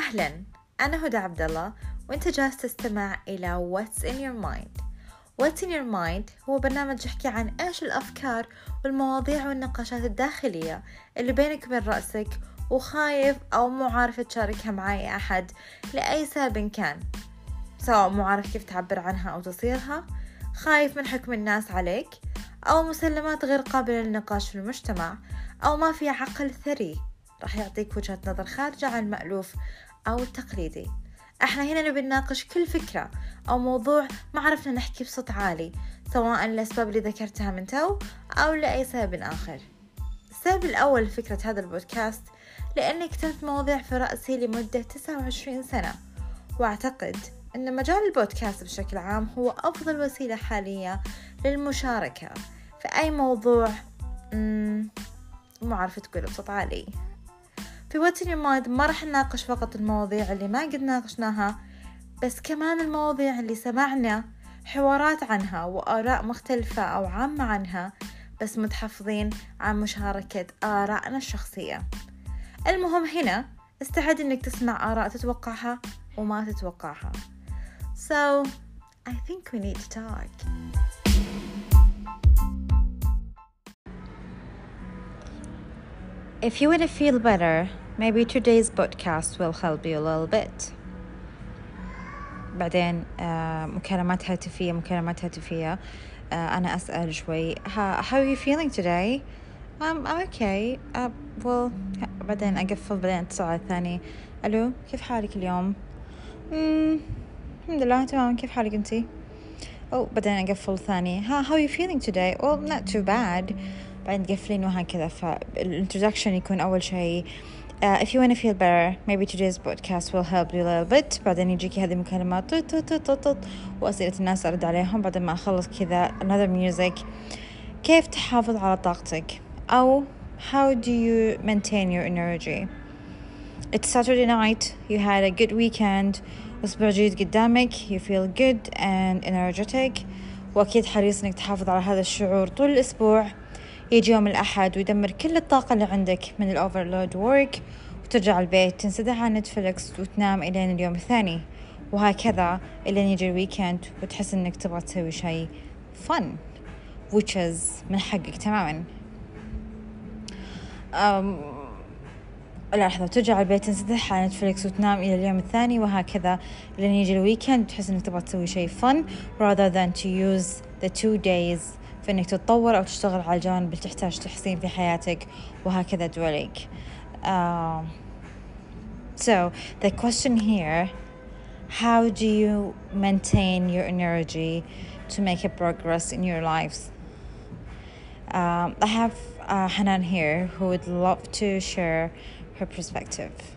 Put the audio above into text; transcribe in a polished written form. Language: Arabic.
أهلا، أنا هدى عبد الله وأنت جالس تستمع إلى What's in your mind. What's in your mind هو برنامج يحكي عن إيش الأفكار والمواضيع والنقاشات الداخلية اللي بينك وبين رأسك وخايف أو مو عارف تشاركها مع أي أحد لأي سبب كان، سواء مو عارف كيف تعبر عنها أو تصيرها، خايف من حكم الناس عليك، أو مسلمات غير قابلة للنقاش في المجتمع، أو ما في عقل ثري راح يعطيك وجهة نظر خارجة عن المألوف أو التقليدي. احنا هنا نبي نناقش كل فكرة أو موضوع ما عرفنا نحكي بصوت عالي، سواء للأسباب اللي ذكرتها من تو أو لأي سبب آخر. السبب الأول لفكرة هذا البودكاست لأني كتبت مواضيع في رأسي لمدة 29 سنة، وأعتقد أن مجال البودكاست بشكل عام هو أفضل وسيلة حالية للمشاركة في أي موضوع مو عارفة تقوله بصوت عالي. في What's in your mind ما رح نناقش فقط المواضيع اللي ما قد ناقشناها، بس كمان المواضيع اللي سمعنا حوارات عنها وآراء مختلفة أو عامة عنها، بس متحفظين عن مشاركة آرائنا الشخصية. المهم هنا استعد إنك تسمع آراء تتوقعها وما تتوقعها. So, I think we need to talk. If you want to feel better, maybe today's podcast will help you a little bit. بعدين مكالمات هاتفية أنا أسأل شوي how are you feeling today? I'm okay. Well بعدين أقفل، بعدين اتصل على الثاني، ألو كيف حالك اليوم؟ الحمد لله تمام، كيف حالك أنتي؟ بعدين أقفل ثاني، how are you feeling today? Well not too bad. بعدين تقفلين وهكذا. فالintroduction يكون أول شيء if you want to feel better, maybe today's podcast will help you a little bit. بعدين يجيكي هذه المكالمات وأسئلة الناس أرد عليهم. بعدين ما أخلص كذا another music. كيف تحافظ على طاقتك؟ أو how do you maintain your energy? It's Saturday night, you had a good weekend, أسبوع جديد قدامك, you feel good and energetic, وأكيد حريص إنك تحافظ على هذا الشعور طول الأسبوع. يجي يوم الأحد ويدمر كل الطاقة اللي عندك من الأوفرلود وورك، وترجع البيت تنسدح على نتفليكس وتنام إلين اليوم الثاني، وهكذا إلين يجي الويكند وتحس إنك تبغى تسوي شيء fun which is من حقك تماما. لحظة، ترجع البيت تنسدح على نتفليكس وتنام إلى اليوم الثاني، وهكذا إلين يجي الويكند وتحس إنك تبغى تسوي شيء fun rather than to use the 2 days في إنك تتطور أو تشتغل على الجوانب اللي تحتاج تحسين في حياتك، وهكذا دولك. So the question here, how do you maintain your energy to make a progress in your lives? I have Hanan here who would love to share her perspective.